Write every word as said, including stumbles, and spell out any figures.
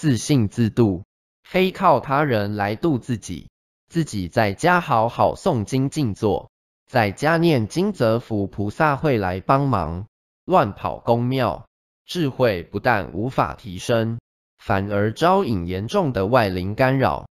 自信自度，非靠他人来度自己。自己在家好好诵经静坐，在家念经则福菩萨会来帮忙。乱跑宫庙，智慧不但无法提升，反而招引严重的外灵干扰。